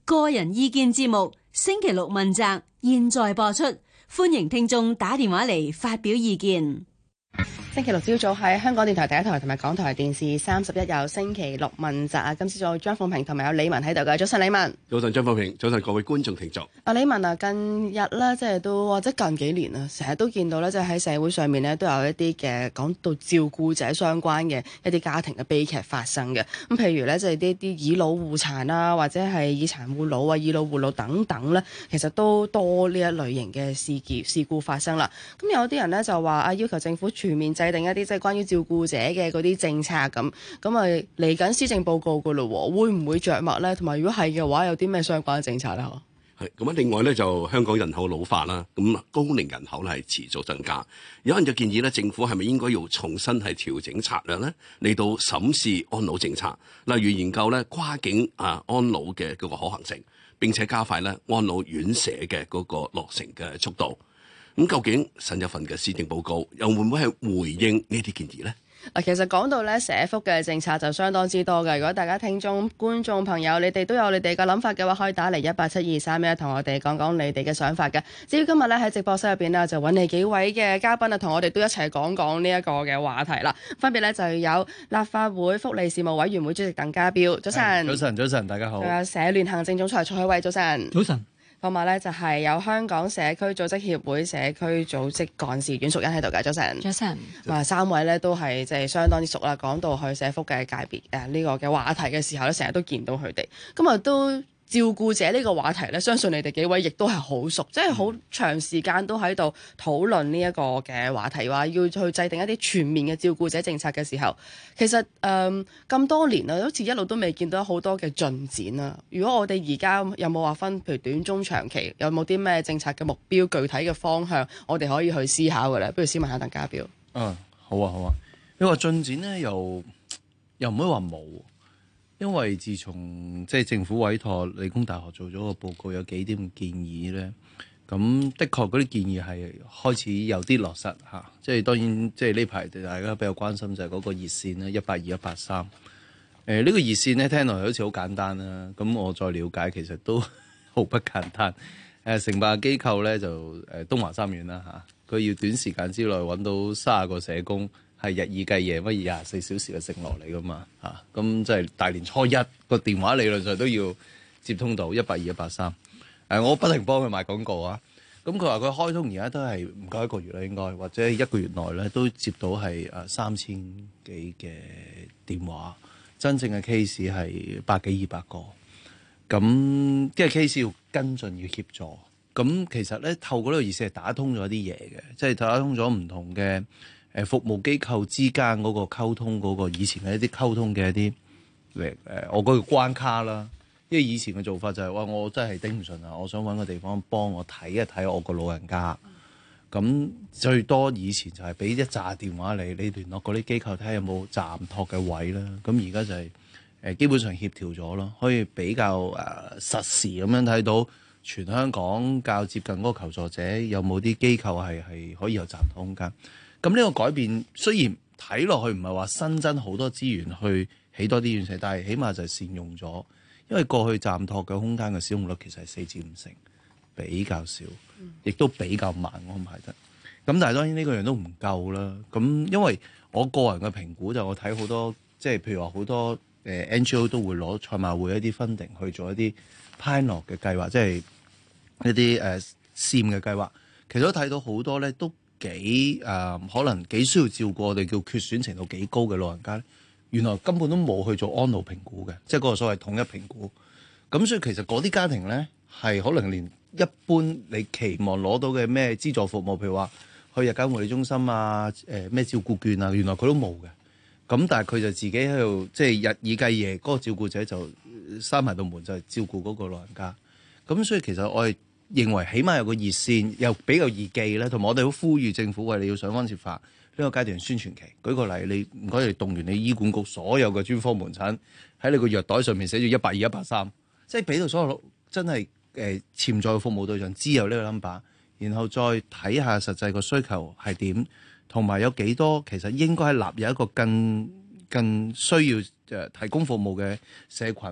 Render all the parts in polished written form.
個人意見節目星期六問責，現在播出，歡迎聽眾打電話嚟發表意見。 星期六朝早喺香港電台第一台同埋港台電視31有星期六問責啊！今朝早有張鳳平同埋有李文喺度嘅。早晨李文。 早晨張鳳平，早晨各位觀眾聽眾。 李文啊，近日咧即係都或者近幾年啊，成日都見到咧，即係喺社會上面咧都有一啲嘅講到照顧者相關嘅一啲家庭嘅悲劇發生嘅。咁譬如咧，即係呢啲以老護殘啊，或者係以殘護老啊、以老護老等等咧，其實都多呢一類型嘅事故發生啦。咁有啲人咧就話啊，要求政府全面制定一啲即係關於照顧者嘅嗰啲政策咁啊，嚟緊施政報告噶咯，會唔會着墨咧？同埋如果係嘅話，有啲咩相關嘅政策咧？ 係咁啊！另外咧就香港人口老化啦，咁高齡人口咧係持續增加。有人就建議咧，政府係咪應該要重新係調整策略咧，嚟到審視安老政策，例如研究咧跨境安老嘅嗰個可行性，並且加快咧安老院舍嘅嗰個落成嘅速度。咁究竟新一份嘅施政報告又會唔會係回應呢啲建議呢？ 其實講到咧社福嘅政策就相當之多嘅。如果大家聽眾、觀眾朋友，你哋都有你哋嘅諗法嘅話，可以打嚟18723同我哋講講你哋嘅想法嘅。至於今日咧喺直播室入邊呢，就揾嚟幾位嘅嘉賓啊，同我哋都一齊講講呢一個嘅話題啦。分別咧就有立法會福利事務委員會主席鄧家彪，早晨。 早晨，大家好。 仲有社聯行政總裁蔡海偉，早晨。 早晨。 同埋咧就係有香港社區組織協會社區組織幹事阮淑茵喺度嘅，早晨。 早晨。 三位咧都係即係相當之熟啦。講到去社福嘅界別呢個嘅話題嘅時候咧，成日都見到佢哋。咁啊都照顧者呢個話題咧，相信你哋幾位亦都係好熟，即係好長時間都喺度討論呢一個嘅話題，話要去制定一啲全面嘅照顧者政策嘅時候，其實咁多年啦，好似一路都未見到好多嘅進展啦。如果我哋而家有冇話分，譬如短中長期，有冇啲咩政策嘅目標、具體嘅方向，我哋可以去思考嘅咧？不如先問下鄧家彪。 好啊。你話進展咧，又唔可以話冇。因為自從即係政府委託理工大學做咗個報告，有幾點建議咧，咁的確嗰啲建議係開始有啲落實嚇。即係當然，即係呢排大家比較關心就係嗰個熱線啦，182-183。呢個熱線咧聽落去好似好簡單啦，咁我再了解其實都毫不簡單。承辦機構咧就東華三院啦嚇，佢要短時間之內揾到30個社工。係日以繼夜乜24小時嘅承諾嚟噶嘛嚇，咁即係大年初一個電話理論上都要接通到182-183。我不停幫佢賣廣告啊。咁佢話佢開通而家都係唔夠1個月啦，應該或者1個月內咧都接到係3000幾嘅電話，真正嘅 case 係100幾200個。咁即係 case 要跟進要協助。咁其實咧透過呢個熱線係打通咗啲嘢嘅，即係打通咗唔同嘅。服務機構之間嗰個溝通，嗰個以前嘅一啲溝通嘅一啲我嗰個關卡啦。因為以前嘅做法就係話我真係頂唔順啊，我想揾個地方幫我睇一睇我個老人家。咁最多以前就係俾一紮電話你聯絡嗰啲機構睇下有冇暫託嘅位啦。咁而家就係基本上協調咗咯，可以比較實時咁樣睇到全香港較接近嗰個求助者有冇啲機構係可以有暫託空間。咁呢個改變雖然睇落去唔係話新增好多資源去起多啲院舍，但係起碼就係善用咗。因為過去暫託嘅空間嘅使用率其實係4至5成，比較少，亦都比較慢安排得。咁但係當然呢個樣都唔夠啦。咁因為我個人嘅評估就我睇好多，即係譬如話好多NGO 都會攞賽馬會一啲 funding 去做一啲 pilot 嘅計劃，即係一啲試驗嘅計劃。其實都睇到好多咧都可能幾需要照顧我哋叫缺損程度幾高嘅老人家咧，原來根本都冇去做安老評估嘅，即係嗰個所謂統一評估。咁所以其實嗰啲家庭咧係可能連一般你期望攞到嘅咩資助服務，譬如話去日間護理中心啊、咩照顧券啊，原來佢都冇嘅。咁但係佢就自己喺度即係日以繼夜，嗰個照顧者就閂埋道門就係照顧嗰個老人家。咁所以其實我係認為起碼有個熱線又比較易記咧，同埋我哋好呼籲政府你要想方設法呢個階段宣傳期。舉個例，你唔該你動員你醫管局所有嘅專科門診喺你個藥袋上面寫住182-183，即係俾到所有真係潛在嘅服務對象知有呢個 number， 然後再睇下實際個需求係點，同埋有幾多其實應該係納入一個更需要提供服務嘅社群。嗰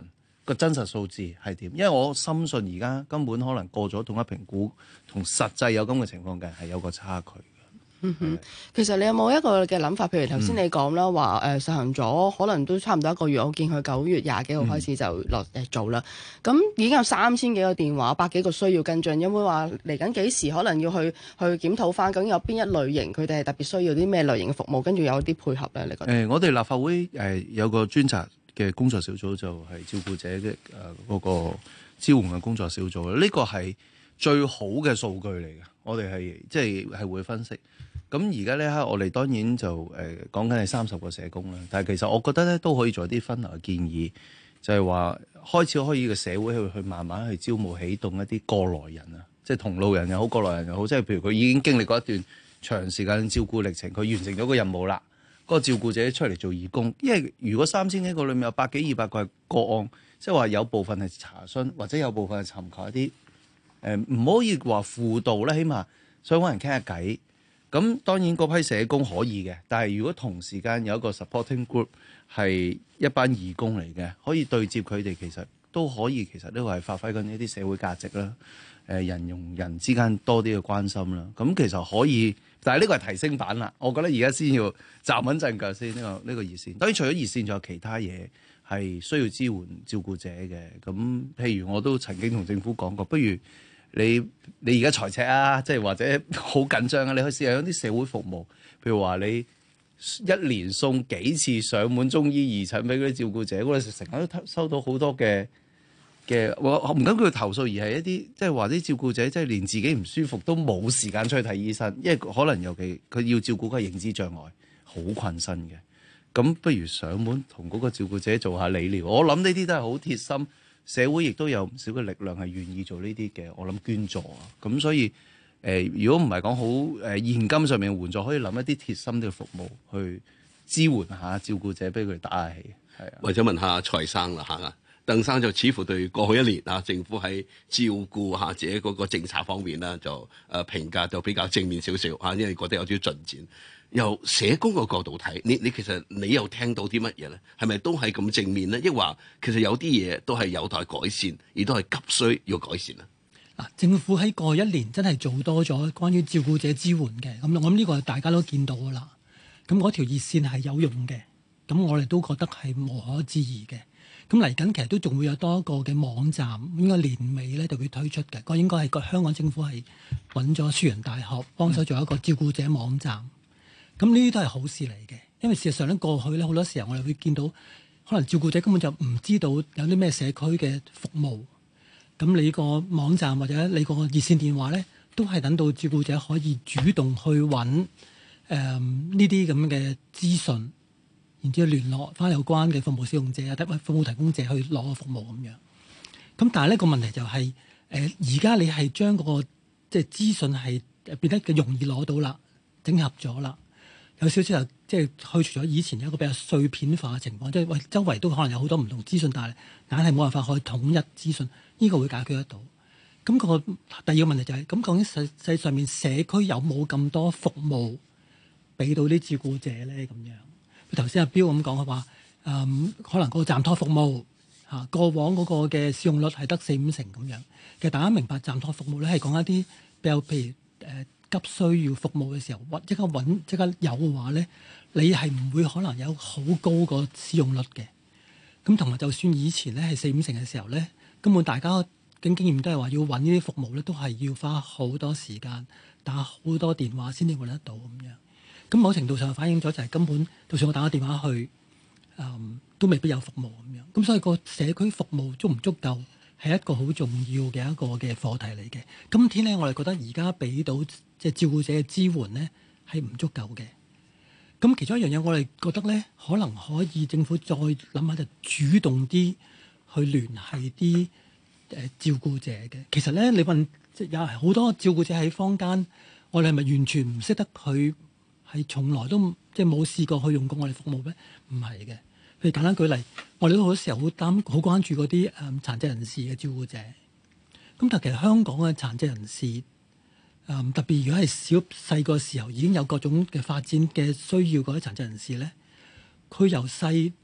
個真實數字係點，因為我深信而家根本可能過咗統一評估同實際有咁嘅情況嘅係有個差距。 其實你有冇一個嘅諗法？譬如頭先你講啦，話實行咗可能都差唔多一個月，我見佢9月20幾號開始就做啦。咁已經有3000幾個電話，100幾個需要跟進。有冇話嚟緊幾時可能要去檢討翻？究竟有邊一類型佢哋係特別需要啲咩類型嘅服務，跟住有啲配合咧？你覺得？ 我哋立法會有個專責嘅工作小組，就係照顧者嘅嗰個支援嘅工作小組。呢個係最好嘅數據嚟嘅，我哋係會分析。咁而家呢刻，我哋當然就講緊係30個社工啦。但係其實我覺得咧都可以做啲分流嘅建議，就係話開始可以個社會去慢慢去招募起動一啲過來人啊，即係同路人又好，過來人又好，即係譬如佢已經經歷過一段長時間照顧歷程，佢完成咗個任務啦，嗰個照顧者出嚟做義工。因為如果3000幾個裏面有100幾200個係個案，即係話有部分係查詢，或者有部分係尋求一啲唔可以話輔導啦，起碼想揾人傾下偈。咁當然嗰批社工可以嘅，但係如果同時間有一個 supporting group 係一班義工嚟嘅，可以對接佢哋，其實都可以。其實呢個係發揮緊一啲社會價值啦。人同人之間多啲嘅關心啦。咁其實可以，但係呢個係提升版啦。我覺得而家先要站穩陣腳先。呢個熱線，當然除咗熱線，仲有其他嘢係需要支援照顧者嘅。咁譬如我都曾經同政府講過，不如你而家財赤啊，即係或者好緊張啊，你可以試下有啲社會服務，譬如話你一年送幾次上門中醫義診俾嗰啲照顧者，我哋成日都收到好多嘅，我唔敢叫佢投訴，而係一啲即係話啲照顧者即係連自己唔舒服都冇時間出去睇醫生，因為可能尤其佢要照顧個認知障礙，好困身嘅。咁不如上門同嗰個照顧者做下理療，我諗呢啲都係好貼心。社會亦都有唔少嘅力量係願意做呢啲嘅，我諗捐助啊。咁所以如果唔係講好現金上面援助，可以諗一啲貼心嘅服務去支援下照顧者，俾佢哋打下氣。係啊， 或者問下蔡生啦嚇，鄧生就似乎對過去1年啊，政府喺照顧下者嗰個政策方面咧，就評價就比較正面少少嚇，因為覺得有啲進展。由社工個角度睇，你其實你又聽到啲乜嘢咧？係咪都係咁正面咧？抑或其實有啲嘢都係有待改善，而都係急需要改善啊？ 嗱，政府喺過去1年真係做多咗關於照顧者支援嘅，咁我諗呢個大家都見到噶啦。咁嗰條熱線係有用嘅，咁我哋都覺得係無可置疑嘅。咁嚟緊其實都仲會有多一個嘅網站，應該年尾咧就會推出嘅。個應該係個香港政府係揾咗樹仁大學幫手做一個照顧者網站。咁呢啲都係好事嚟嘅，因為事實上咧過去咧好多時候我哋會見到，可能照顧者根本就唔知道有啲咩社區嘅服務。咁你個網站或者你個熱線電話咧，都係等到照顧者可以主動去揾呢啲咁嘅資訊，然之後聯絡翻有關嘅服務使用者啊，或者服務提供者去攞個服務咁樣。咁但係呢個問題就係而家你係將嗰個即係資訊係變得容易攞到啦，整合咗啦。有少少即係去除咗以前有一個比較碎片化嘅情況，即係喂周圍都可能有好多唔同資訊，但係硬係冇辦法可以統一資訊，呢個會解決得到。咁個第二個問題就係咁，究竟實際上面社區有冇咁多服務俾到啲照顧者咧？咁樣頭先阿標咁講嘅話，可能個暫託服務嚇過往嗰個嘅使用率係得4-5成咁樣。其實大家明白暫託服務咧係講一啲比較譬如急需要服務嘅時候，即刻揾即刻有嘅話咧，你係唔會可能有好高個使用率嘅。咁同埋就算以前咧係4-5成嘅時候咧，根本大家嘅經驗都係話要揾呢啲服務咧，都係要花好多時間打好多電話先至揾得到咁樣。咁某程度上反映咗就係根本，就算我打個電話去，都未必有服務咁樣。咁所以個社區服務足唔足夠係一個好重要嘅一個嘅課題嚟嘅。今天咧，我哋覺得而家俾到即係照顧者嘅支援咧係唔足夠嘅。咁其中一樣嘢，我哋覺得咧，可能可以政府再諗下，就主動啲去聯繫啲照顧者嘅。其實咧，你問即係有好多照顧者喺坊間，我哋係咪完全唔識得佢？係從來都即係冇試過去用過我哋服務咩？唔係嘅。譬如簡單舉例，我哋都好多時候好關注嗰啲殘疾人士嘅照顧者。咁但係其實香港嘅殘疾人士，特別如果係細個時候已經有各種嘅發展嘅需要嗰啲殘疾人士咧，佢由細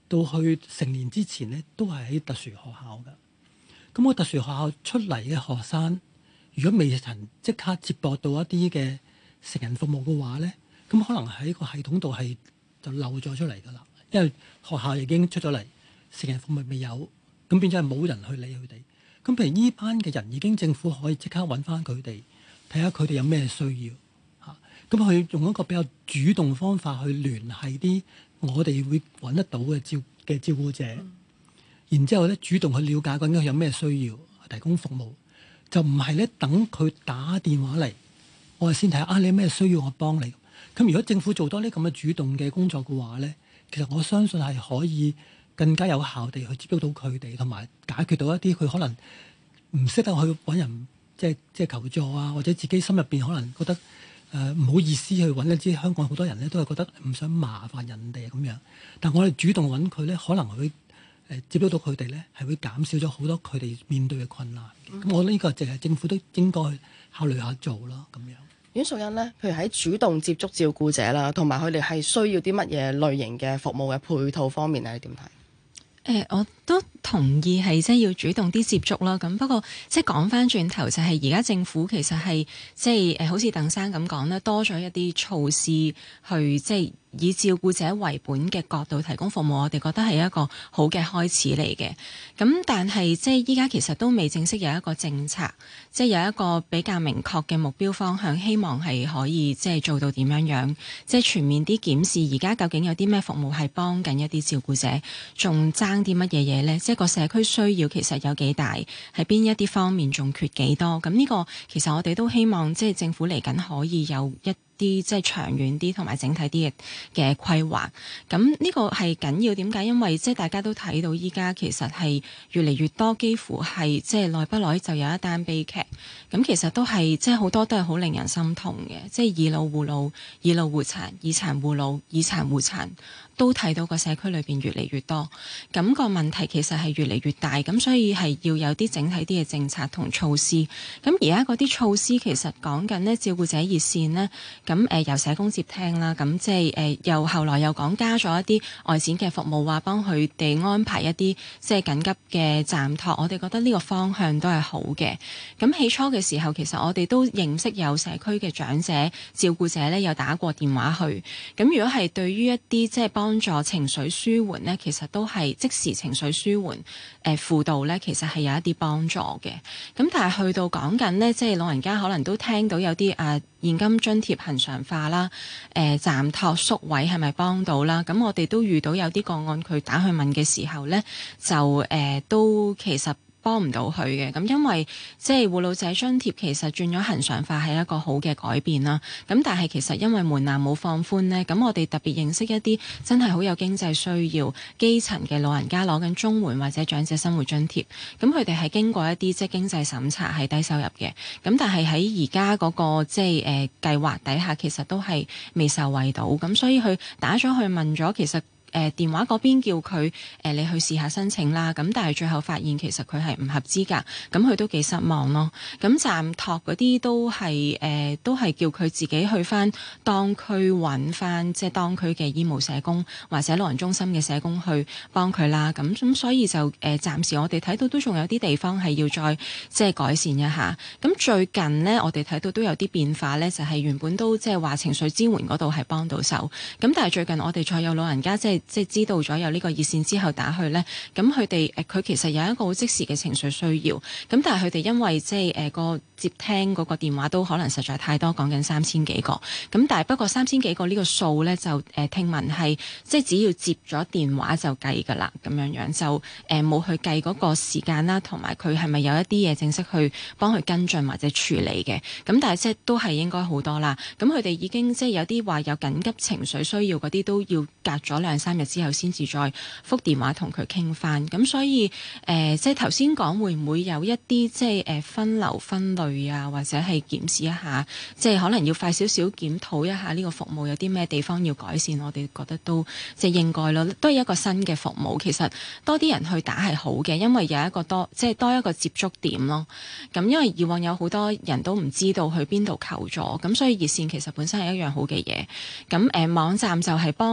到去成年之前咧，都係喺特殊學校㗎。咁個特殊學校出嚟嘅學生，如果未曾即刻接駁到一啲嘅成人服務嘅話咧，咁可能喺個系統度係就漏咗出嚟㗎啦。因為學校已經出咗嚟，成人服務未有，咁變咗係冇人去理佢哋。咁譬如呢班嘅人已經政府可以即刻揾翻佢哋，睇下佢哋有咩需要嚇。咁佢用一個比較主動方法去聯繫啲我哋會揾得到嘅照顧者。然之後咧，主動去了解究竟佢有咩需要，提供服務，就唔係咧等佢打電話嚟，我哋先睇下你有咩需要，我幫你。咁如果政府做多啲咁嘅主動嘅工作嘅話咧，其實我相信係可以更加有效地去接觸到佢哋，同埋解決到一啲佢可能唔識得去揾人即係求助啊，或者自己心入邊可能覺得唔好意思去揾一啲香港好多人咧都係覺得唔想麻煩人哋咁樣，但我哋主動揾佢咧，可能會接觸到佢哋咧，係會減少咗好多佢哋面對嘅困難。咁我覺得呢個就係政府都應該考慮下做啦，咁樣。 阮淑茵呢，譬如喺主動接觸照顧者啦，同埋佢哋係需要啲乜嘢類型嘅服務嘅配套方面咧，你點睇？ 我都同意係即係要主動啲接觸啦。咁不過即係講翻轉頭，就係而家政府其實係即係好似鄧生咁講咧，多咗一啲措施去即係以照顧者為本嘅角度提供服務，我哋覺得係一個好嘅開始嚟嘅。咁但係即係依家其實都未正式有一個政策，即係有一個比較明確嘅目標方向，希望係可以即係做到點樣樣，即係全面啲檢視而家究竟有啲咩服務係幫緊一啲照顧者，仲爭啲乜嘢嘢呢？即係個社區需要其實有幾大，喺邊一啲方面仲缺幾多？咁呢個其實我哋都希望即係政府嚟緊可以有一啲即係長遠啲同埋整體啲嘅規劃，咁呢個係緊要。點解？因為即係大家都睇到依家其實係越嚟越多，幾乎係即係耐不耐就有一單悲劇。咁其實都係即係好多都係好令人心痛嘅，即係以老護老、以老護殘、以殘護老、以殘護殘。都睇到個社區裏邊越嚟越多，咁個問題其實係越嚟越大，咁所以係要有啲整體啲嘅政策同措施。咁而家嗰啲措施其實講緊呢照顧者熱線呢，咁由社工接聽啦，咁即係又後來又講加咗一啲外展嘅服務，話幫佢哋安排一啲即係緊急嘅暫託。我哋覺得呢個方向都係好嘅。咁起初嘅時候，其實我哋都認識有社區嘅長者照顧者呢，有打過電話去。咁如果係對於一啲即係幫助情緒舒緩呢，其實都係即時情緒舒緩輔導呢，其實係有一啲幫助嘅。咁但係去到講緊呢，即係老人家可能都聽到有啲現金津貼恆常化啦，暫託宿位係咪幫到啦？咁我哋都遇到有啲個案，佢打去問嘅時候呢，就都其實幫唔到佢嘅。咁因為即係護老者津貼其實轉咗恆常化係一個好嘅改變啦。咁但係其實因為門檻冇放寬呢，咁我哋特別認識一啲真係好有經濟需要基層嘅老人家攞緊綜援或者長者生活津貼，咁佢哋係經過一啲即係經濟審查係低收入嘅。咁但係喺而家嗰個即係計劃底下，其實都係未受惠到。咁所以佢打咗去問咗，其實電話嗰邊叫佢你去試下申請啦，咁但係最後發現其實佢係唔合資格，咁佢都幾失望咯。咁暫託嗰啲都係叫佢自己去翻當區揾翻即係當區嘅醫務社工或者老人中心嘅社工去幫佢啦。咁所以就暫時我哋睇到都仲有啲地方係要再即係改善一下。咁最近呢，我哋睇到都有啲變化呢，就係原本都即係話情緒支援嗰度係幫到手，咁但係最近我哋再有老人家即係知道咗有呢個熱線之後打去呢，咁佢其實有一個好即時嘅情緒需要，咁但係佢哋因為即係個接聽嗰個電話都可能實在太多，講緊3000幾個，咁但係不過3000幾個呢個數呢，就聽聞係即係只要接咗電話就計㗎啦，咁樣就冇去計嗰個時間啦，同埋佢係咪有一啲嘢正式去幫佢跟進或者處理嘅，咁但係即係都係應該好多啦。咁佢哋已經即係有啲話有緊急情緒需要嗰啲都要隔咗2-3日之後先至再覆電話同佢傾翻。咁所以即係頭先講會唔會有一啲即係分流分類啊，或者係檢視一下，即係可能要快少少檢討一下呢個服務有啲咩地方要改善，我哋覺得都即係應該咯，都係一個新嘅服務。其實多啲人去打係好嘅，因為有一個即係多一個接觸點咯。咁因為以往有好多人都唔知道去邊度求助，咁所以熱線其實本身係一樣好嘅嘢。咁網站就係幫到一啲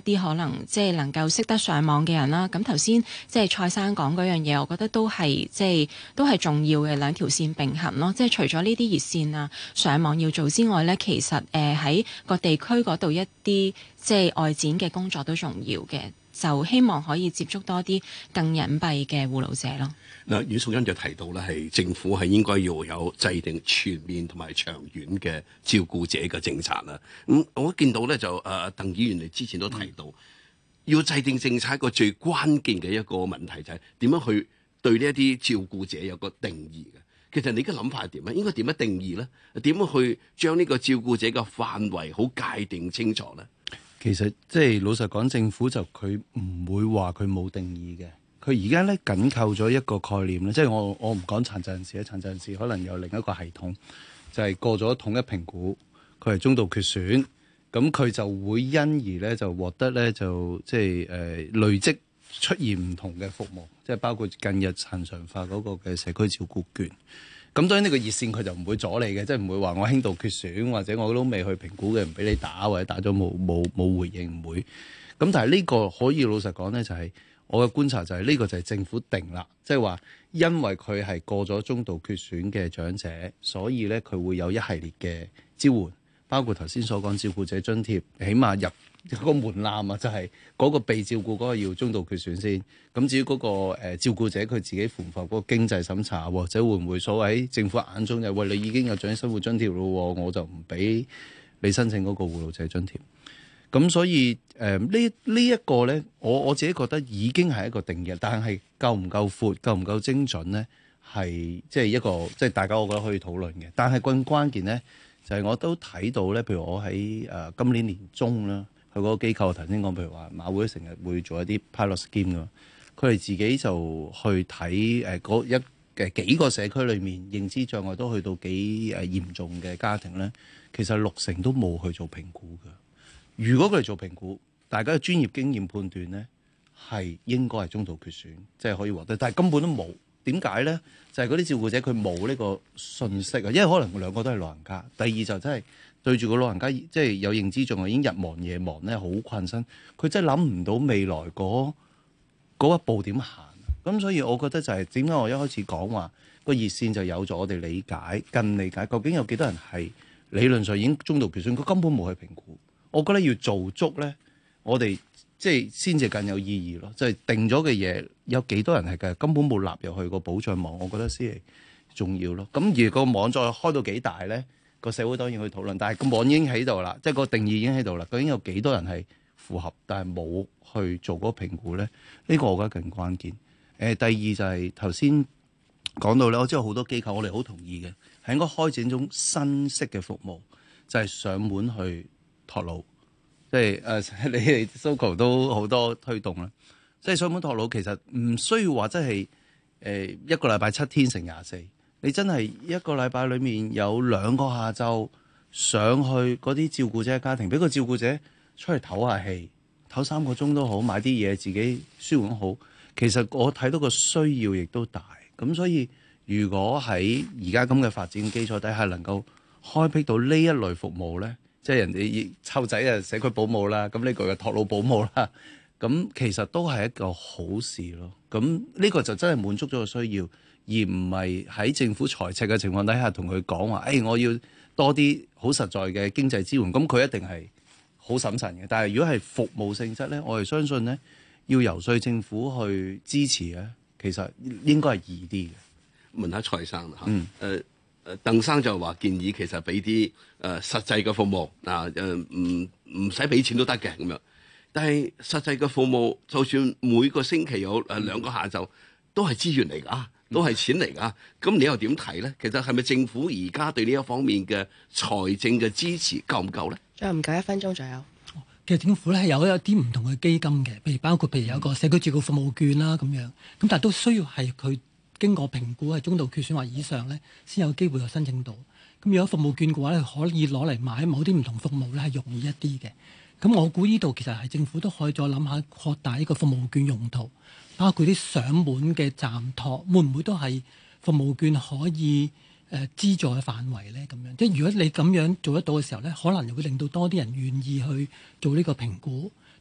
啲可能即係能夠識得上網嘅人啦。咁頭先即係蔡生講嗰樣嘢，我覺得都係都係重要嘅，兩條線並行咯。即係除咗呢啲熱線啊、上網要做之外咧，其實喺個地區嗰度一啲即係外展嘅工作都重要嘅。就希望可以接觸多啲更隱蔽嘅護老者咯。 嗱，阮淑茵就提到咧，係政府係應該要有制定全面同埋長遠嘅照顧者嘅政策啦。我見到咧就鄧議員你之前都提到，要制定政策一個最關鍵嘅一個問題就係點樣去對呢一啲照顧者有個定義嘅。其實你嘅諗法係點咧？應該點樣定義咧？點樣去將呢個照顧者嘅範圍好界定清楚咧？ 其實即係老實講，政府就佢唔會話佢冇定義嘅。佢而家咧緊扣咗一個概念咧，即係我唔講殘疾人士，殘疾人士可能有另一個系統，就係過咗統一評估，佢係中度缺損，咁佢就會因而咧就獲得咧就即係累積出現唔同嘅服務，即係包括近日恆常化嗰個嘅社區照顧券。咁當然呢個熱線佢就唔會阻你嘅，即係唔會話我輕度缺損或者我都未去評估嘅唔俾你打，或者打咗冇回應，唔會。咁但係呢個可以老實講咧，就係我嘅觀察就係呢個就係政府定啦，即係話因為佢係過咗中度缺損嘅長者，所以咧佢會有一系列嘅支援，包括頭先所講照顧者津貼，起碼入個門檻啊，就係嗰個被照顧嗰個要中度缺損先。咁至於嗰個照顧者佢自己符合嗰個經濟審查，或者會唔會所謂政府眼中就喂，你已經有長者生活津貼咯，我就唔俾你申請嗰個護老者津貼。咁所以呢一個咧，我自己覺得已經係一個定義，但係夠唔夠闊、夠唔夠精準咧，係即係一個即係大家我覺得可以討論嘅。但係更關鍵咧，就係我都睇到咧，譬如我喺今年年中啦。佢嗰個機構頭先講，譬如話馬會成日會做一啲 pilot scheme 㗎，佢哋自己就去睇幾個社區裏面認知障礙都去到幾嚴重嘅家庭咧，其實60%都冇去做評估㗎。如果佢哋做評估，大家嘅專業經驗判斷咧係應該係中度缺損，即係可以獲得，但係根本都冇。點解咧？就係嗰啲照顧者佢冇呢個信息啊，因為可能兩個都係老人家。第二就真係對住個老人家，即係有認知障礙已經日忙夜忙咧，好困身。佢真係諗唔到未來嗰一步點行。咁所以我覺得就係點解我一開始講話個熱線就有咗我哋理解、更理解，究竟有幾多人係理論上已經中度缺損，佢根本冇去評估。我覺得要做足咧，我哋即係先至更有意義咯。即係定咗嘅嘢，有幾多人係嘅根本冇納入去個保障網，我覺得先係重要咯。咁而個網再開到幾大咧，個社會當然去討論。但係個網已經喺度啦，即係個定義已經喺度啦。究竟有幾多人係符合，但係冇去做嗰個評估咧？呢個我覺得更關鍵。第二就係頭先講到咧，我知道好多機構，我哋好同意嘅，係應該開展一種新式嘅服務，就係上門去託老。即係你哋 Soco 都好多推動啦。即係上門託老其實唔需要話真係一個禮拜7天乘24，你真係一個禮拜裡面有2個下晝上去嗰啲照顧者嘅家庭，俾個照顧者出去唞下氣，唞3個鐘都好，買啲嘢自己舒緩好。其實我睇到個需要亦都大，咁所以如果喺而家咁嘅發展基礎底下，能夠開闢到呢一類服務咧，即係人哋湊仔啊，社區保姆啦，咁呢個嘅託老保姆啦，咁其實都係一個好事咯。咁呢個就真係滿足咗個需要，而唔係喺政府財赤嘅情況底下同佢講話，我要多啲好實在嘅經濟支援，咁佢一定係好審慎嘅。但係如果係服務性質咧，我哋相信咧，要游說政府去支持咧，其實應該係易啲嘅。 問下蔡生嚇，鄧生就話建議其實俾啲實際嘅服務唔使俾錢都得嘅咁樣。但係實際嘅服務，就算每個星期有2個下晝，都係資源嚟㗎，都係錢嚟㗎。咁你又點睇咧？其實係咪政府而家對呢一方面嘅財政嘅支持夠唔夠咧？ 仲有唔夠1分鐘左右。 其實政府咧係有一啲唔同嘅基金嘅，譬如有個社區照顧服務券啦咁樣，咁但係都需要係佢經過評估係中度缺損或以上咧，先有機會去申請到。咁如果服務券嘅話咧，可以攞嚟買某啲唔同服務咧係容易一啲嘅。咁我估呢度其實係政府都可以再諗下擴大呢個服務券用途，包括啲上門嘅暫託，會唔會都係服務券可以資助嘅範圍咧？咁樣即係如果你咁樣做得到嘅時候咧，可能又會令到多啲人願意去做呢個評估，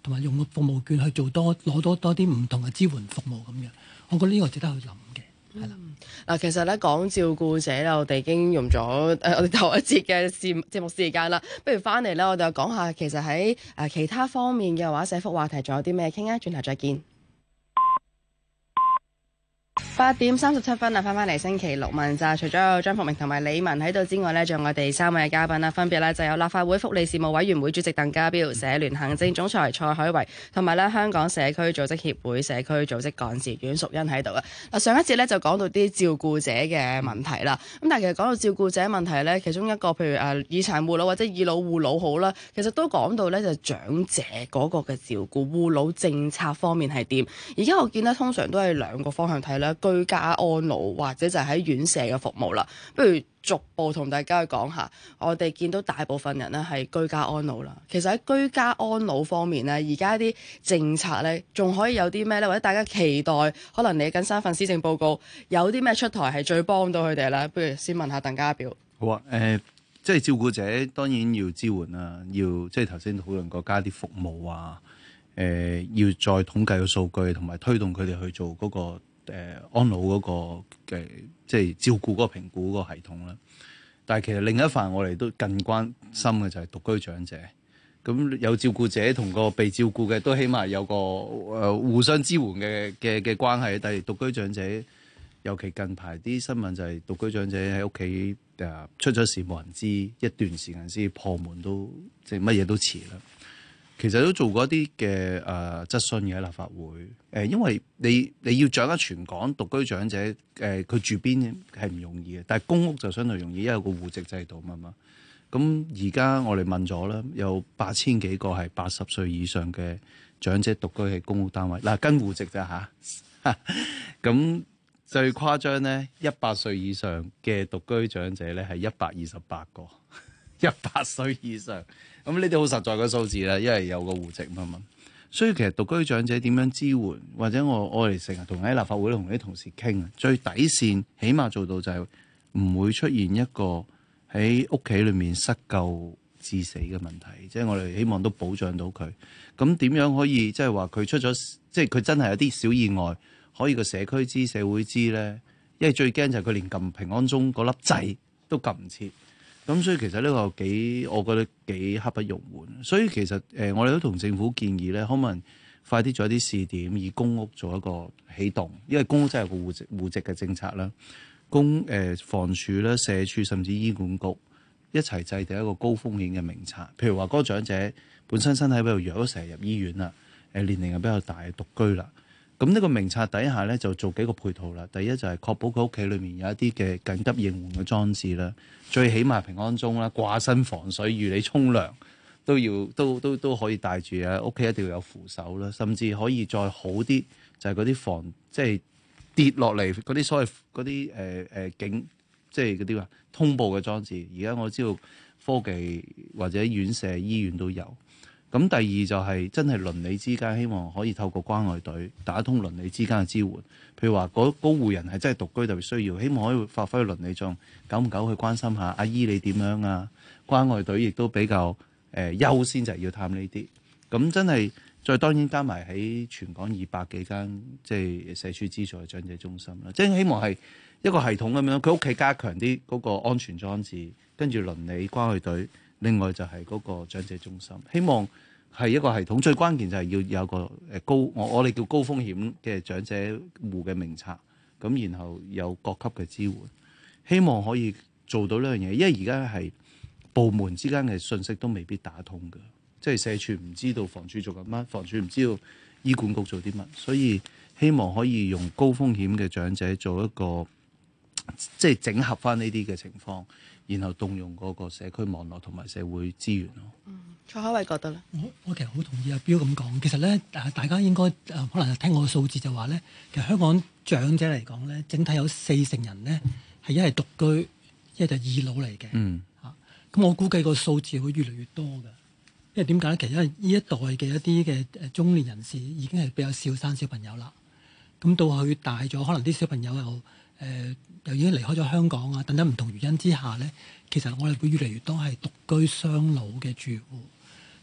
同埋用個服務券去做攞多啲唔同嘅支援服務咁樣。我覺得呢個值得去諗嘅，係啦。 嗱，其實咧講照顧者咧，我哋已經用咗我哋頭一節嘅節目時間啦。不如翻嚟咧，我哋又講下其實喺其他方面嘅話，社福話題仲有啲咩傾啊？轉頭再見。8:37啊，翻嚟星期六問責，除咗有張復明同埋李文喺度之外呢，仲有我哋3位嘉賓啦，分別呢就有立法會福利事務委員會主席鄧家彪、社聯行政總裁蔡海維，同埋呢香港社區組織協會社區組織幹事阮淑茵喺度啊。嗱，上一節呢就講到啲照顧者嘅問題啦，咁但係其實講到照顧者問題呢，其中一個譬如以殘護老或者以老護老好啦，其實都講到呢就長者嗰個嘅照顧護老政策方面係點。而家我見呢，通常都係兩個方向睇啦。居家安老或者就係喺院舍嘅服務啦，不如逐步同大家去講下。我哋見到大部分人呢係居家安老啦，其實喺居家安老方面呢，而家啲政策呢仲可以有啲咩呢？或者大家期待可能嚟緊3份施政報告有啲咩出台係最幫到佢哋呢？不如先問下鄧家彪。 好啊，即係照顧者當然要支援啦，要即係頭先討論過加啲服務啊，要再統計個數據，同埋推動佢哋去做嗰個安老嗰個嘅即係照顧嗰個評估嗰個系統啦。但係其實另一範我哋都更關心嘅就係獨居長者。咁有照顧者同個被照顧嘅都起碼有個互相支援嘅關係。但係獨居長者，尤其近排啲新聞就係獨居長者喺屋企出咗事冇人知，一段時間先破門都即係乜嘢都遲啦。其實都做過一啲嘅質詢嘅喺立法會，因為你要掌握全港獨居長者佢住邊係唔容易嘅，但係公屋就相對容易，因為有個戶籍制度嘛。咁而家我哋問咗啦，有8000幾個係80歲以上嘅長者獨居喺公屋單位，嗱跟戶籍咋嚇？咁最誇張咧，100歲以上嘅獨居長者咧係128個，100歲以上。咁呢啲好實在嘅數字啦，因為有個戶籍嘛。所以其實獨居長者點樣支援，或者我哋成日同喺立法會同啲同事傾啊，最底線起碼做到就係唔會出現一個喺屋企裏面失救致死嘅問題，即係我哋希望都保障到佢。咁點樣可以即係話佢出咗，即係佢真係有啲小意外，可以個社區知、社會知咧？因為最驚就係佢連撳平安鐘嗰粒掣都撳唔切。咁所以其實呢個我覺得幾刻不容緩。所以其實我哋都同政府建議咧，可唔可能快啲做一啲試點，以公屋做一個起動，因為公屋真係有個戶籍嘅政策啦。房署啦、社署甚至醫管局一齊制定一個高風險嘅名冊。譬如話嗰個長者本身身體比較弱，成日入醫院啦，年齡又比較大，獨居啦。咁呢個名冊底下咧就做幾個配套啦。第一就係確保佢屋企裏面有一啲嘅緊急應援嘅裝置啦，最起碼平安鐘啦、掛身防水、預你沖涼都可以帶住啊。屋企一定要有扶手啦，甚至可以再好啲就係嗰啲即係跌落嚟嗰啲所謂嗰啲警即係嗰啲話通報嘅裝置。而家我知道科技或者院舍醫院都有。咁第二就係真係鄰里之間，希望可以透過關愛隊打通鄰里之間嘅支援。譬如話嗰戶人係真係獨居特別需要，希望可以發揮鄰里作用，久唔久去關心下阿姨你點樣啊？關愛隊亦都比較優先就係要探呢啲。咁真係再當然加埋喺全港200幾間即係社署資助嘅長者中心啦，即係希望係一個系統咁樣，佢屋企加強啲嗰個安全裝置，跟住鄰里關愛隊。另外就係嗰個長者中心，希望係一個系統。最關鍵就係要有個我哋叫高風險嘅長者戶嘅名冊，咁然後有各級嘅支援，希望可以做到呢樣嘢。因為而家係部門之間嘅信息都未必打通嘅，即係社署唔知道房署做緊乜，房署唔知道醫管局做啲乜，所以希望可以用高風險嘅長者做一個即係整合翻呢啲嘅情況。然後動用嗰個社區網絡同埋社會資源咯。 蔡海偉覺得咧， 我其實好同意阿彪咁講。其實咧，大家應該可能聽我嘅數字就話咧，其實香港長者嚟講咧，整體有40%人咧係一係獨居，一係就二老嚟嘅。咁我估計個數字會越嚟越多㗎。因為點解咧？其實因為呢一代嘅一啲嘅中年人士已經係比較少生小朋友啦。咁到佢大咗，可能啲小朋友又已經離開咗香港啊，等等唔同原因之下咧，其實我哋會越嚟越多係獨居雙老嘅住戶。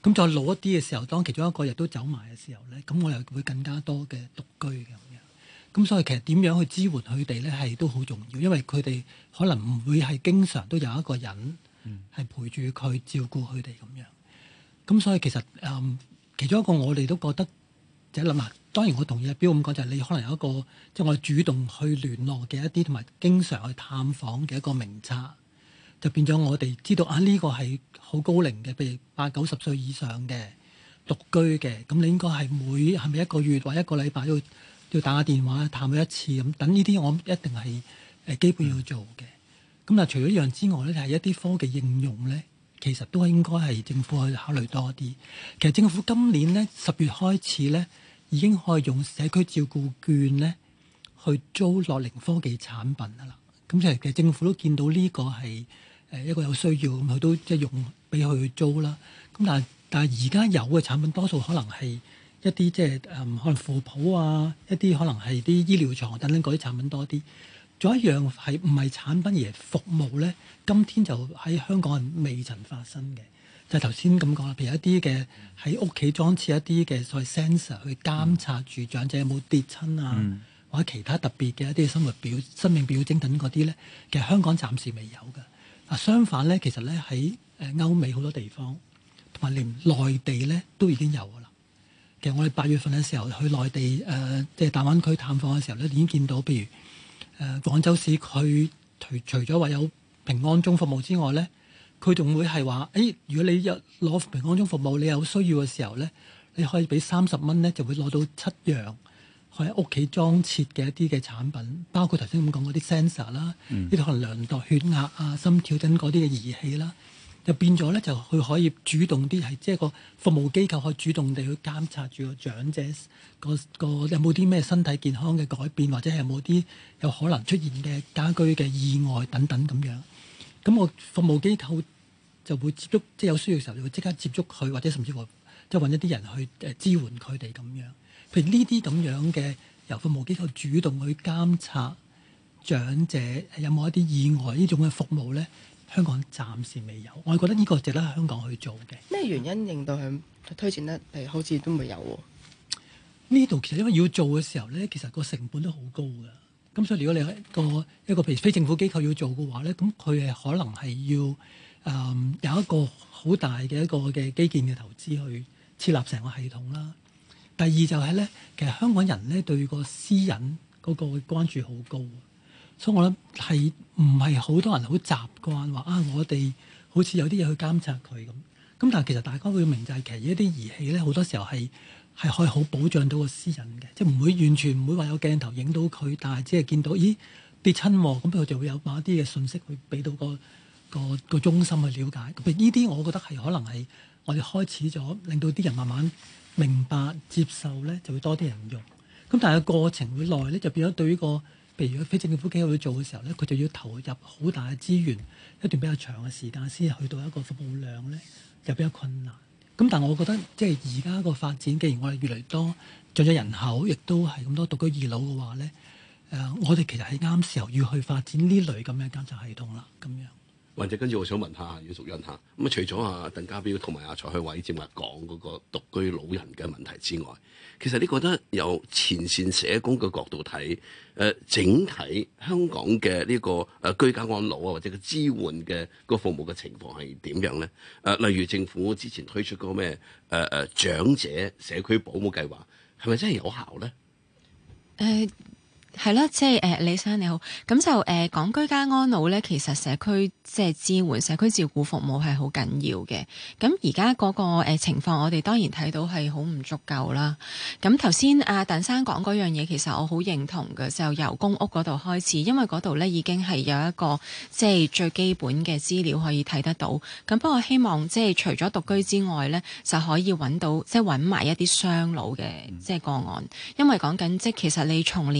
咁再老一啲嘅時候，當其中一個亦都走埋嘅時候咧，咁我又會更加多嘅獨居嘅咁樣。咁所以其實點樣去支援佢哋咧，係都好重要，因為佢哋可能唔會係經常都有一個人係陪住佢照顧佢哋咁樣。咁所以其實其中一個我哋都覺得就係諗下，當然我同意阿標咁講，就係你可能有一個即係我哋主動去聯絡嘅一啲同埋經常去探訪嘅一個名冊，就變咗我哋知道啊呢個係好高齡嘅，譬如80-90歲以上嘅獨居嘅，咁你應該係咪一個月或一個禮拜要打下電話探佢一次咁，等呢啲我一定係基本要做嘅。咁但除咗呢樣之外咧，係一啲科技應用咧，其實都應該係政府去考慮多啲。其實政府今年咧10月開始咧，已經可以用社區照顧券咧去租樂齡科技產品㗎啦。咁其實政府都見到呢個係一個有需要，咁佢都即係用俾佢去租啦。咁但係而家有嘅產品多數可能係一啲即係可能扶抱啊，一啲可能係啲醫療床等等嗰啲產品多啲。仲有一樣係唔係產品而係服務咧？今天就喺香港係未曾發生嘅，就係頭先咁講啦。譬如一啲嘅喺屋企裝設一啲嘅所謂 sensor 去監察住長者有冇跌親啊，或者其他特別嘅一啲生命表徵等嗰啲咧，其實香港暫時未有嘅。啊，相反咧，其實咧喺歐美好多地方同埋連內地咧都已經有㗎啦。其實我哋8月份嘅時候去內地即係大灣區探訪嘅時候咧，已經見到譬如廣州市佢除咗話有平安鐘服務之外咧，佢仲會係話如果你攞平安鐘服務，你有需要嘅時候咧，你可以俾30蚊咧，就會攞到7樣喺屋企裝設嘅一啲嘅產品，包括頭先咁講嗰啲 sensor 啦，呢啲可能量度血壓啊、心跳等嗰啲嘅儀器啦。就變咗咧，就佢可以主動啲，係即係個服務機構可以主動地去監察住個長者個有冇啲咩身體健康嘅改變，或者係有冇啲有可能出現嘅家居嘅意外等等咁樣。咁個服務機構就會接觸，即係有需要嘅時候就會即刻接觸佢，或者甚至乎即係揾一啲人去支援佢哋咁樣。譬如呢啲咁樣嘅由服務機構主動去監察長者有冇一啲意外呢種嘅服務咧。香港暫時未有，我覺得呢個值得香港去做嘅。 咩原因令到佢推薦得好似都未有喎？ 呢度其實因為要做嘅時候咧，其實個成本都好高㗎。咁所以如果你一個譬如非政府機構要做嘅話咧，咁佢係可能係要有一個好大嘅一個嘅基建嘅投資去設立成個系統啦。第二就係咧，其實香港人咧對個私隱嗰個關注好高。所以我諗係唔係好多人好習慣話我哋好似有啲嘢去監察佢咁。咁但係其實大家會明就係其實一啲儀器咧，好多時候係可以好保障到個私隱嘅，即係唔會完全唔會話有鏡頭影到佢，但係只係見到跌親喎，咁佢就會有某一啲嘅信息去俾到個中心去了解。咁呢啲我覺得係可能係我哋開始咗令到啲人慢慢明白接受咧，就會多啲人用。咁但係個過程會耐咧，就變咗對於譬如非政府機構去做嘅時候咧，佢就要投入好大嘅資源，一段比較長嘅時間先去到一個服務量咧，就比較困難。咁但係我覺得即係而家個發展，既然我哋越嚟越多長者人口，亦都係咁多獨居二老嘅話咧，我哋其實係啱時候要去發展呢類咁嘅監察系統啦，咁樣。 或者跟住我想問下姚淑茵嚇，咁除咗鄧家彪同埋蔡海偉正話講嗰個獨居老人嘅問題之外，其實你覺得由前線社工嘅角度睇，整體香港嘅呢個居家安老啊，或者個支援嘅個服務嘅情況係點樣咧？例如政府之前推出嗰個咩長者社區保姆計劃，係咪真係有效咧？ 係啦，即係李生你好，咁就講居家安老咧，其實社區即係支援社區照顧服務係好緊要嘅。咁而家嗰個情況，我哋當然睇到係好唔足夠啦。咁頭先阿鄧生講嗰樣嘢，其實我好認同嘅，就由公屋嗰度開始，因為嗰度咧已經係有一個即係最基本嘅資料可以睇得到。咁不過希望即係除咗獨居之外咧，就可以揾到即係揾埋一啲雙老嘅即係個案，因為講緊即係其實你從年齡就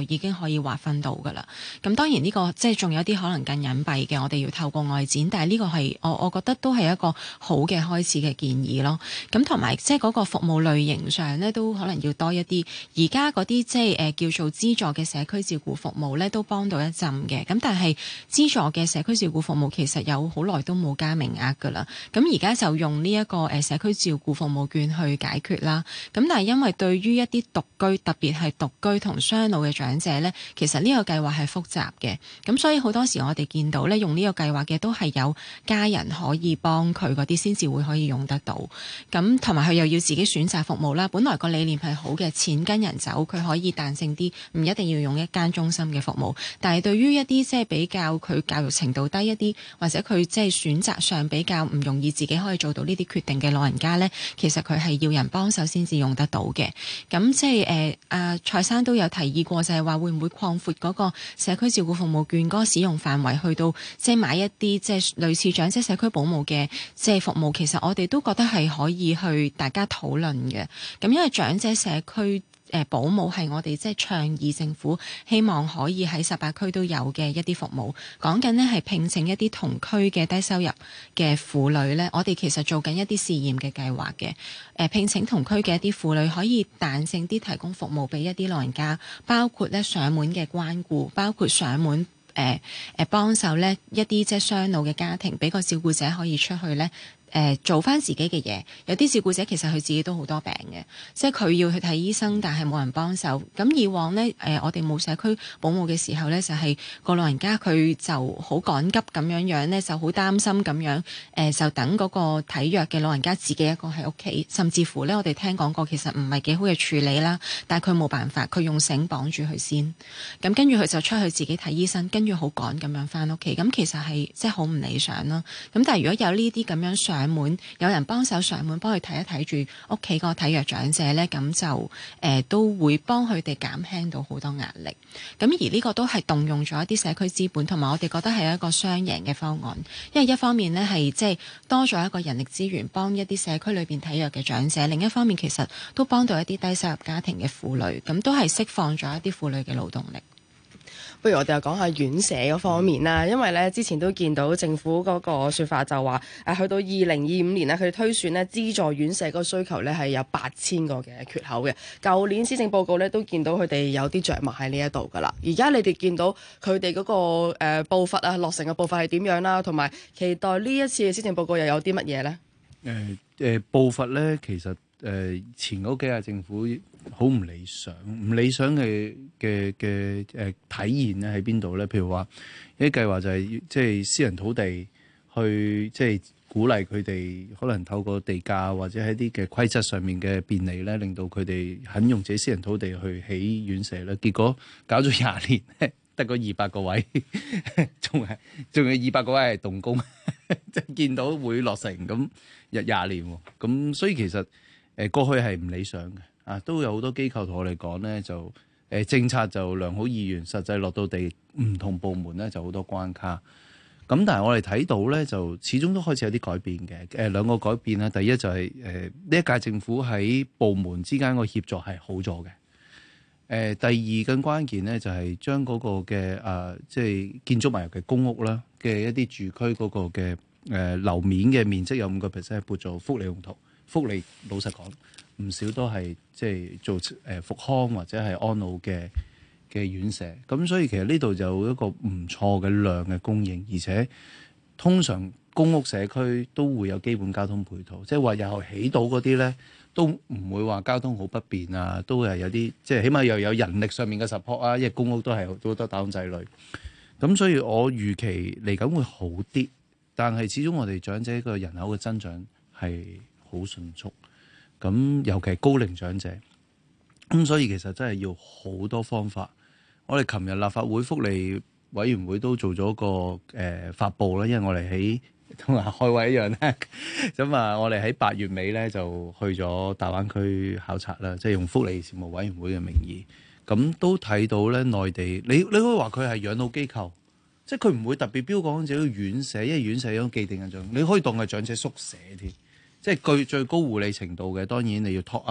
就已經可以劃分到㗎啦。咁當然呢個即係仲有啲可能更隱蔽嘅，我哋要透過外展，但係呢個係我覺得都係一個好嘅開始嘅建議咯。咁同埋即係嗰個服務類型上咧，都可能要多一啲。而家嗰啲即係叫做資助嘅社區照顧服務咧，都幫到一陣嘅。咁但係資助嘅社區照顧服務其實有好耐都冇加名額㗎啦。咁而家就用呢一個社區照顧服務券去解決啦。咁但係因為對於一啲獨居，特別係獨居同雙老嘅長者咧，其實呢個計劃係複雜嘅。咁所以好多時我哋見到咧，用呢個計劃嘅都係有家人可以幫佢嗰啲先至會可以用得到。咁同埋佢又要自己選擇服務啦。本來個理念係好嘅，錢跟人走，佢可以彈性啲，唔一定要用一間中心嘅服務。但係對於一啲即係比較佢教育程度低一啲，或者佢即係選擇上比較唔容易自己可以做到呢啲決定嘅老人家咧，其實佢係要人幫手先至用得到嘅。咁即係蔡生都有提議過，就係話會唔會擴闊嗰個社區照顧服務券嗰個使用範圍，去到即係買一啲即係類似長者社區保姆嘅即係服務。其實我哋都覺得係可以去大家討論嘅。咁因為長者社區保姆係我哋即係倡議政府希望可以喺18區都有嘅一啲服務。講緊呢係聘請一啲同區嘅低收入嘅婦女呢，我哋其實做緊一啲試驗嘅計劃嘅。聘請同區嘅一啲婦女可以彈性啲提供服務俾一啲老人家，包括咧上門嘅關顧，包括上門幫手咧一啲即係雙老嘅家庭，俾個照顧者可以出去咧。做翻自己嘅嘢，有啲照顧者其實佢自己都好多病嘅，即係佢要去睇醫生，但係冇人幫手。咁以往呢，我哋冇社區保姆嘅時候呢，就係個老人家佢就好趕急咁樣呢，就好擔心咁樣，就等嗰個體弱嘅老人家自己一個喺屋企，甚至乎呢，我哋聽講過其實唔係幾好嘅處理啦，但係佢冇辦法，佢用繩綁住佢先，咁跟住佢就出去自己睇醫生，跟住好趕咁樣翻屋企，咁其實係即係好唔理想啦。咁但係如果有呢啲咁樣上門，有人幫手上門幫佢睇一睇住屋企個體弱長者呢，咁就都會幫佢哋減輕到好多壓力。咁而呢個都係動用咗一啲社區資本，同埋我哋覺得係一個雙贏嘅方案。因為一方面呢係即係多咗一個人力資源幫一啲社區裏邊體弱嘅長者，另一方面其實都幫到一啲低收入家庭嘅婦女，咁都係釋放咗一啲婦女嘅勞動力。 不如我哋又講下院舍嗰方面啦，因為咧之前都見到政府嗰個説法就話，去到2025年咧，佢哋推算咧資助院舍嗰個需求咧係有8000個嘅缺口嘅。舊年施政報告咧都見到佢哋有啲着墨喺呢一度噶啦。而家你哋見到佢哋嗰個步伐啊，落成嘅步伐係點樣啦？同埋期待呢一次嘅施政報告又有啲乜嘢咧？ 步伐咧，其實前嗰幾屆政府好唔理想，唔理想嘅體現咧喺邊度咧？譬如話有啲計劃就係即係私人土地去即係鼓勵佢哋可能透過地價或者喺啲嘅規則上面嘅便利咧，令到佢哋肯用自己私人土地去起院舍咧。結果搞咗20年，得個200個位，仲有200個位係動工，即係見到會落成咁20年喎。咁所以其實過去係唔理想嘅。都有好多機構同我哋講咧，就政策就良好意願，實際落到地唔同部門咧就好多關卡。咁但係我哋睇到咧，就始終都開始有啲改變嘅。兩個改變啦，第一就係呢一屆政府喺部門之間個協作係好咗嘅。第二更關鍵咧就係將嗰個嘅即係建築物嘅公屋啦嘅一啲住區嗰個嘅樓面嘅面積有5%係撥做福利用途。福利老實講，唔少都係即係做復康或者係安老嘅院舍，咁所以其實呢度就有一個唔錯嘅量嘅供應，而且通常公屋社區都會有基本交通配套，即係話日後起到嗰啲咧都唔會話交通好不便啊，都係有啲即係起碼又有人力上面嘅 support 啊，因為公屋都係好多打工仔女，咁所以我預期嚟緊會好啲，但係始終我哋長者個人口嘅增長係好迅速，咁尤其係高齡長者，咁所以其實真係要好多方法。我哋琴日立法會福利委員會都做咗個發布啦，因為我哋喺同開會一樣咧，咁我哋喺8月尾咧就去咗大灣區考察啦，即係用福利事務委員會嘅名義，咁都睇到咧內地，你可以話佢係養老機構，即係佢唔會特別標榜自己院舍，因為院舍有種既定印象，你可以當係長者宿舍添。即係最高護理程度嘅，當然你要 top up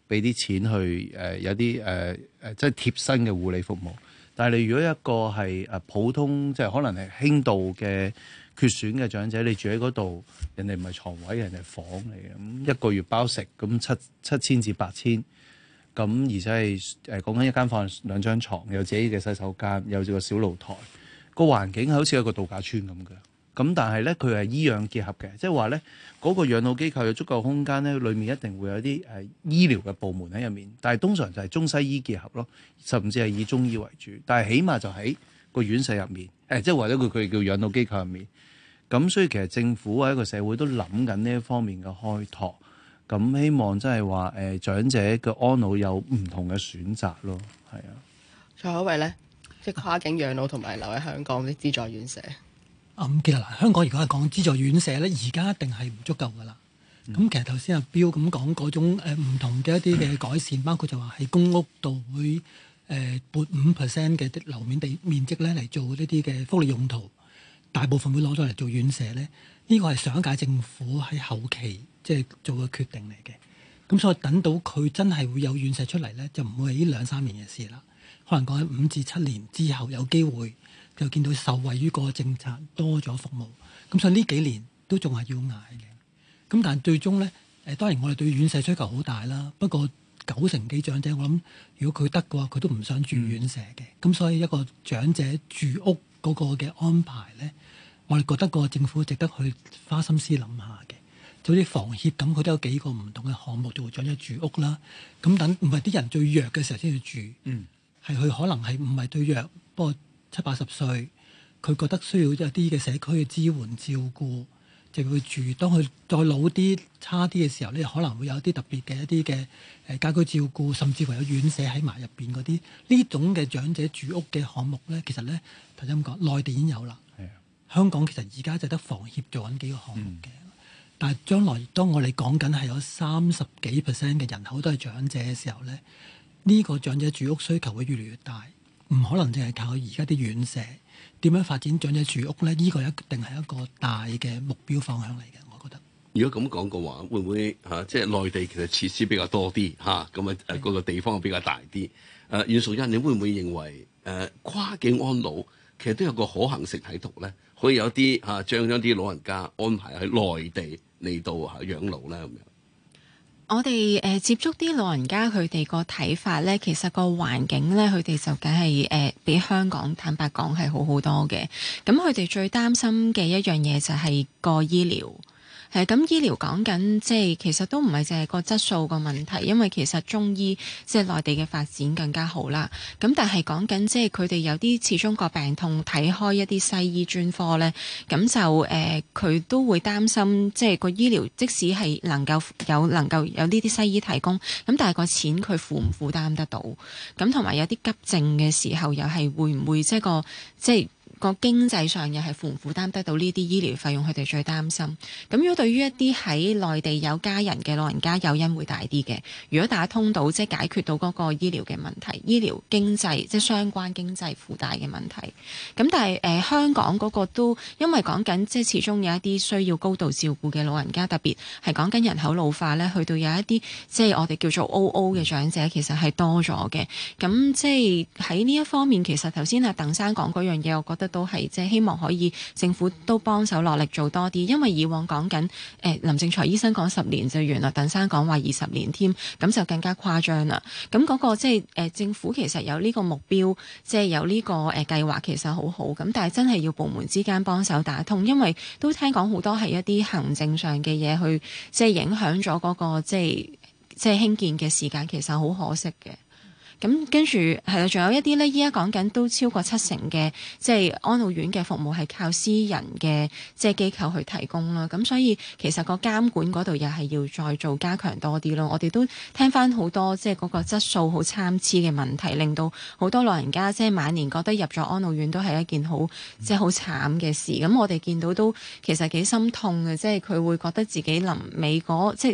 俾啲錢去有啲即係貼身嘅護理服務。但係你如果一個係普通即係可能係輕度嘅缺損嘅長者，你住喺嗰度，人哋唔係床位，人哋係房嚟嘅，咁一個月包食咁7,000至8,000，咁而且係講緊一間房2張床，有自己嘅洗手間，有個小露台，個環境係好似一個度假村咁嘅。咁但係咧，佢係醫養結合嘅，即係話咧嗰個養老機構有足夠空間咧，裏面一定會有啲醫療嘅部門喺入面，但係通常就係中西醫結合咯，甚至係以中醫為主，但係起碼就喺個院舍入面，即係或者佢叫養老機構入面。咁所以其實政府喺一個社會都諗緊呢一方面嘅開拓，咁希望真係話長者嘅安老有唔同嘅選擇咯，係啊。 蔡海偉咧，即係跨境養老同埋留喺香港啲資助院舍。 其實香港如果係講資助院舍咧，而家一定係唔足夠噶啦。咁、其實頭先阿標咁講嗰種唔同嘅一啲嘅改善，包括就話喺公屋度會撥5% 嘅樓面地面積咧嚟做呢啲嘅福利用途，大部分會攞咗嚟做院舍咧。呢個係上一屆政府喺後期即係做嘅決定嚟嘅。咁所以等到佢真係會有院舍出嚟咧，就唔會係呢2-3年嘅事啦。可能講喺5至7年之後有機會。就見到受惠於個政策多咗服務，咁所以呢幾年都仲係要捱嘅。咁但係最終咧，當然我哋對院舍需求好大啦。不過90%幾長者，我諗如果佢得嘅話，佢都唔想住院舍嘅。咁所以一個長者住屋嗰個嘅安排咧，我哋覺得個政府值得去花心思諗下嘅。就好似房協咁，佢都有幾個唔同嘅項目做長者住屋啦。咁等唔係啲人最弱嘅時候先去住，係佢可能係唔係最弱，不過70-80歲，佢覺得需要一啲嘅社區嘅支援照顧，就會住。當佢再老啲、差啲嘅時候咧，可能會有啲特別嘅一啲嘅家居照顧，甚至乎有院舍喺埋入邊嗰啲。呢種嘅長者住屋嘅項目咧，其實咧頭先咁講，內地已經有啦。香港其實而家就得房協做緊幾個項目嘅，但係將來當我哋講緊係有30幾% 嘅人口都係長者嘅時候咧，呢個長者住屋需求會越嚟越大。唔可能淨係靠而家啲院舍，點樣發展長者住屋咧？呢個一定係一個大嘅目標方向嚟嘅，我覺得。 如果咁講嘅話，會唔會即係內地其實設施比較多啲嚇，咁嗰個地方比較大啲？阮淑茵，你會唔會認為跨境安老其實都有個可行性喺度咧？可以有啲將啲老人家安排喺內地嚟到養老咧咁樣？ 我哋接觸啲老人家，佢哋個睇法咧，其實個環境咧，佢哋就梗係比香港坦白講係好好多嘅。咁佢哋最擔心嘅一樣嘢就係個醫療。咁醫療講緊即係其實都唔係淨係個質素個問題，因為其實中醫即係內地嘅發展更加好啦。咁但係講緊即係佢哋有啲始終個病痛睇開一啲西醫專科咧，咁就佢都會擔心即係個醫療即使係能夠有呢啲西醫提供，咁但係個錢佢負唔負擔得到？咁同埋有啲急症嘅時候又係會唔會即係個經濟上又係負唔負擔得到呢啲醫療費用，佢哋最擔心。咁如果對於一啲喺內地有家人嘅老人家，誘因會大啲嘅。如果打通到即係解決到嗰個醫療嘅問題，醫療經濟即係相關經濟附帶嘅問題。咁但係香港嗰個都因為講緊即係始終有一啲需要高度照顧嘅老人家，特別係講緊人口老化咧，去到有一啲即係我哋叫做 OO 嘅長者，其實係多咗嘅。咁即係喺呢一方面，其實頭先阿鄧生講嗰樣嘢，我覺得都係即係希望可以政府都幫手落力做多啲，因為以往講緊林正財醫生講10年就完啦，鄧生講話20年添，咁就更加誇張啦。咁嗰個即係政府其實有呢個目標，即係有呢個計劃，其實好好。咁但係真係要部門之間幫手打通，因為都聽講好多係一啲行政上嘅嘢去即係影響咗嗰個即係興建嘅時間，其實好可惜嘅。咁跟住係啦，仲有一啲咧，依家講緊都超過70%嘅即係安老院嘅服務係靠私人嘅即係機構去提供啦。咁所以其實個監管嗰度又係要再做加強多啲咯。我哋都聽翻好多即係嗰個質素好參差嘅問題，令到好多老人家即係晚年覺得入咗安老院都係一件好即係好慘嘅事。咁我哋見到都其實幾心痛嘅，即係佢會覺得自己臨尾嗰即係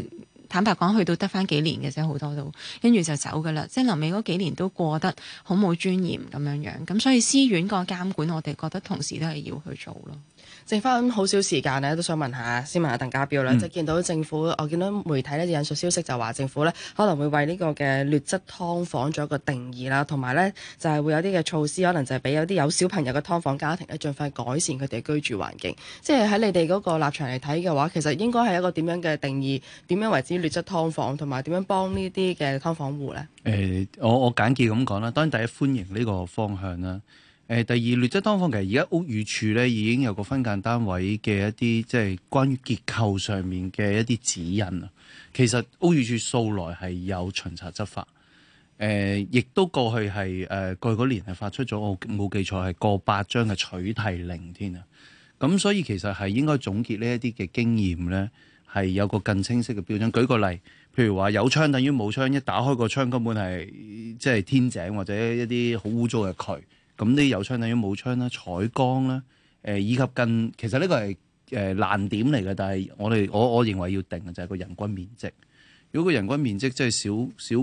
坦白講，去到得翻幾年嘅啫，好多都跟住就走噶啦。即係臨尾嗰幾年都過得好冇尊嚴咁樣樣。咁所以私院個監管，我哋覺得同時都係要去做咯。 剩翻好少時間咧，都想問下，先問下鄧家彪啦。即係見到政府，我見到媒體咧引述消息就話政府咧可能會為呢個嘅劣質劏房做一個定義啦，同埋咧就係會有啲嘅措施，可能就係俾有啲有小朋友嘅劏房家庭咧，盡快改善佢哋居住環境。即係喺你哋嗰個立場嚟睇嘅話，其實應該係一個點樣嘅定義？點樣為之劣質劏房？同埋點樣幫呢啲嘅劏房戶咧？ 我簡潔咁講啦。當然第一歡迎呢個方向啦。第二劣質劏房其實而家屋宇署咧已經有個分間單位嘅一啲即係關於結構上面嘅一啲指引啊。其實屋宇署素來係有巡查執法，亦都過去係過去嗰年係發出咗，我冇記錯係過百張嘅取締令添啊。咁所以其實係應該總結呢一啲嘅經驗咧，係有個更清晰嘅標準。舉個例，譬如話有窗等於冇窗，一打開個窗根本係即係天井或者一啲好污糟嘅渠。咁啲有窗等於冇窗啦，採光啦，以及其實呢個係難點嚟嘅，但係我認為要定嘅就係個人均面積。如果個人均面積即係少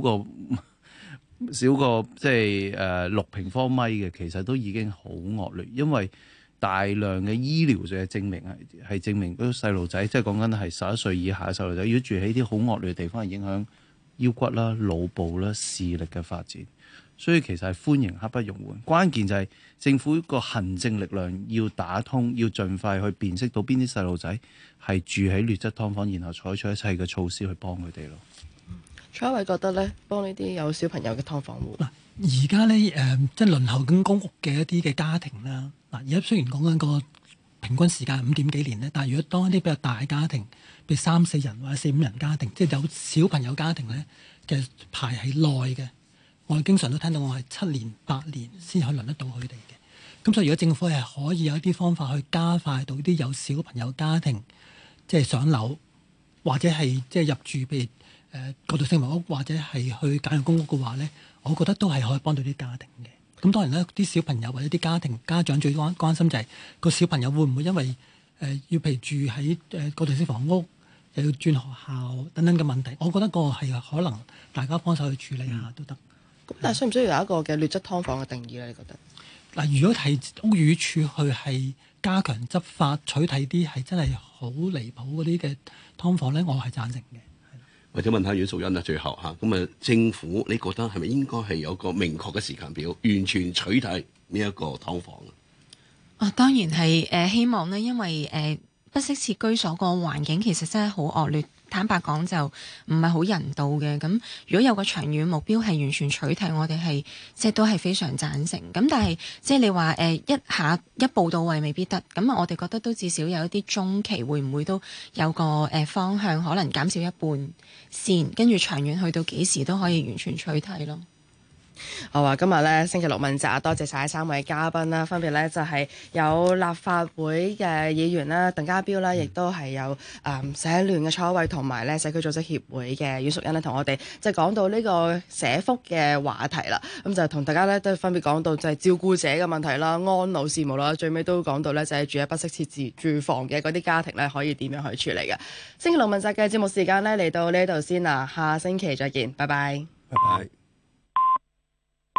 過即係6平方米嘅，其實都已經好惡劣，因為大量嘅醫療嘅證明係證明嗰啲細路仔，即係講緊係11歲以下嘅細路仔，如果住喺啲好惡劣嘅地方，係影響腰骨啦、腦部啦、視力嘅發展。所以其實係歡迎刻不容緩，關鍵就係政府個行政力量要打通，要盡快去辨識到邊啲細路仔係住喺劣質劏房，然後採取一切嘅措施去幫佢哋咯。 蔡海偉覺得咧，幫呢啲有小朋友嘅劏房戶嗱，而家咧即係輪候緊公屋嘅一啲嘅家庭啦。嗱，而家雖然講緊個平均時間5點幾年咧，但係如果當一啲比較大嘅家庭，譬如3、4人或者4、5人家庭，即係有小朋友家庭咧，其實排係耐嘅。我哋經常都聽到我係7年、8年先可以輪得到佢哋嘅。咁所以如果政府係可以有一啲方法去加快到啲有小朋友家庭即係上樓，或者係即係入住譬如過渡性房屋，或者係去簡約公屋嘅話咧，我覺得都係可以幫到啲家庭嘅。咁當然啦，啲小朋友或者啲家庭家長最關心就係個小朋友會唔會因為要譬如住喺過渡性房屋，又要轉學校等等嘅問題。我覺得個係可能大家幫手去處理下都得。 咁但係需唔需要有一個嘅劣質劏房嘅定義咧？你覺得？ 嗱，如果係屋宇署去係加強執法，取締啲係真係好離譜嗰啲嘅劏房咧，我係贊成嘅。 或者問下阮淑茵啊，最後嚇咁啊，政府你覺得係咪應該係有個明確嘅時間表，完全取締呢一個劏房啊？ 當然係希望咧，因為不適切居所個環境其實真係好惡劣。坦白講就唔係好人道嘅，咁如果有個長遠目標係完全取締，我哋係即係都係非常贊成。咁但係即係你話一下一步到位未必得，咁我哋覺得都至少有一啲中期會唔會都有個方向，可能減少一半先，跟住長遠去到幾時都可以完全取締咯。 好啊！今日咧星期六問責，多謝晒3位嘉賓啦，分別咧就係有立法會嘅議員啦，鄧家彪啦，亦都係有社聯嘅蔡海偉同埋咧社區組織協會嘅阮淑茵咧，同我哋即係講到呢個社福嘅話題啦。咁就同大家咧都分別講到就係照顧者嘅問題啦、安老事務啦，最尾都講到咧就係住喺不適切住房嘅嗰啲家庭咧可以點樣去處理嘅。星期六問責嘅節目時間咧嚟到呢度先啦，下星期再見，拜拜。 拜拜。